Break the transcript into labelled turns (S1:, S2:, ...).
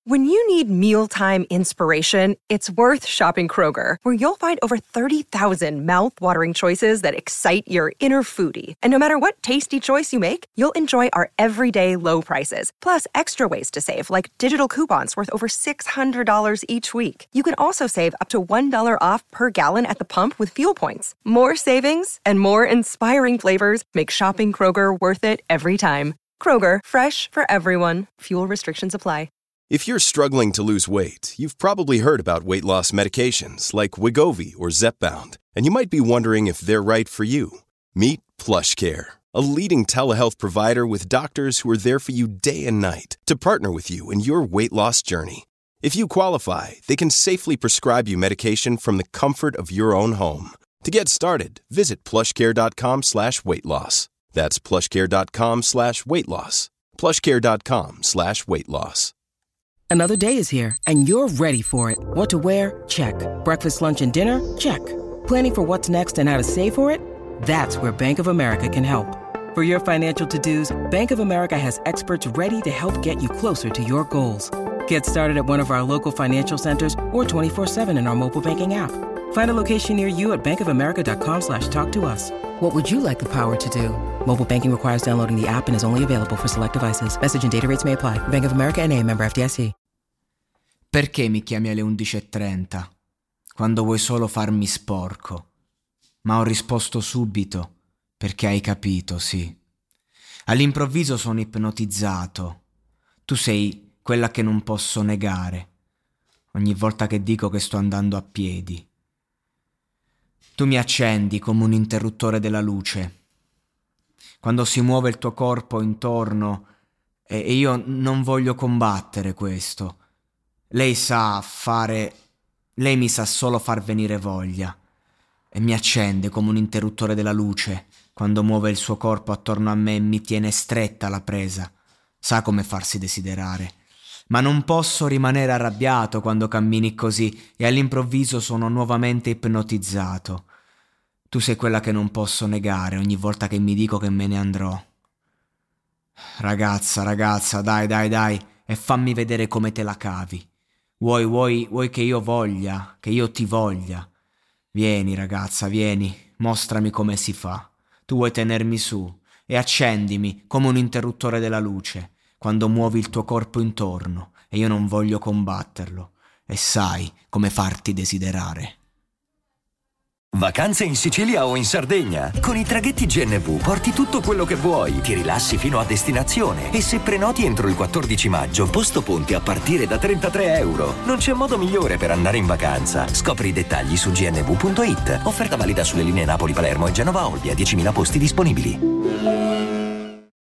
S1: When you need mealtime inspiration, it's worth shopping Kroger, where you'll find over 30,000 mouth-watering choices that excite your inner foodie. And no matter what tasty choice you make, you'll enjoy our everyday low prices, plus extra ways to save, like digital coupons worth over $600 each week. You can also save up to $1 off per gallon at the pump with fuel points. More savings and more inspiring flavors make shopping Kroger worth it every time. Kroger, fresh for everyone. Fuel restrictions apply.
S2: If you're struggling to lose weight, you've probably heard about weight loss medications like Wegovy or Zepbound, and you might be wondering if they're right for you. Meet PlushCare, a leading telehealth provider with doctors who are there for you day and night to partner with you in your weight loss journey. If you qualify, they can safely prescribe you medication from the comfort of your own home. To get started, visit plushcare.com/weightloss. That's plushcare.com/weightloss. plushcare.com/weightloss.
S3: Another day is here, and you're ready for it. What to wear? Check. Breakfast, lunch, and dinner? Check. Planning for what's next and how to save for it? That's where Bank of America can help. For your financial to-dos, Bank of America has experts ready to help get you closer to your goals. Get started at one of our local financial centers or 24/7 in our mobile banking app. Find a location near you at bankofamerica.com/talktous. What would you like the power to do? Mobile banking requires downloading the app and is only available for select devices. Message and data rates may apply. Bank of America N.A., member FDIC.
S4: Perché mi chiami alle 11:30? Quando vuoi solo farmi sporco. Ma ho risposto subito, perché hai capito, sì. All'improvviso sono ipnotizzato. Tu sei quella che non posso negare. Ogni volta che dico che sto andando a piedi. Tu mi accendi come un interruttore della luce. Quando si muove il tuo corpo intorno e io non voglio combattere questo. Lei mi sa solo far venire voglia e mi accende come un interruttore della luce quando muove il suo corpo attorno a me e mi tiene stretta la presa. Sa come farsi desiderare. Ma non posso rimanere arrabbiato quando cammini così e all'improvviso sono nuovamente ipnotizzato. Tu sei quella che non posso negare ogni volta che mi dico che me ne andrò. Ragazza, dai, e fammi vedere come te la cavi. Vuoi che io voglia, che io ti voglia? Vieni, ragazza, vieni, mostrami come si fa. Tu vuoi tenermi su e accendimi come un interruttore della luce quando muovi il tuo corpo intorno e io non voglio combatterlo e sai come farti desiderare.
S5: Vacanze in Sicilia o in Sardegna? Con i traghetti GNV porti tutto quello che vuoi, ti rilassi fino a destinazione e se prenoti entro il 14 maggio, posto ponti a partire da €33. Non c'è modo migliore per andare in vacanza. Scopri i dettagli su gnv.it. Offerta valida sulle linee Napoli-Palermo e Genova-Olbia, 10.000 posti disponibili.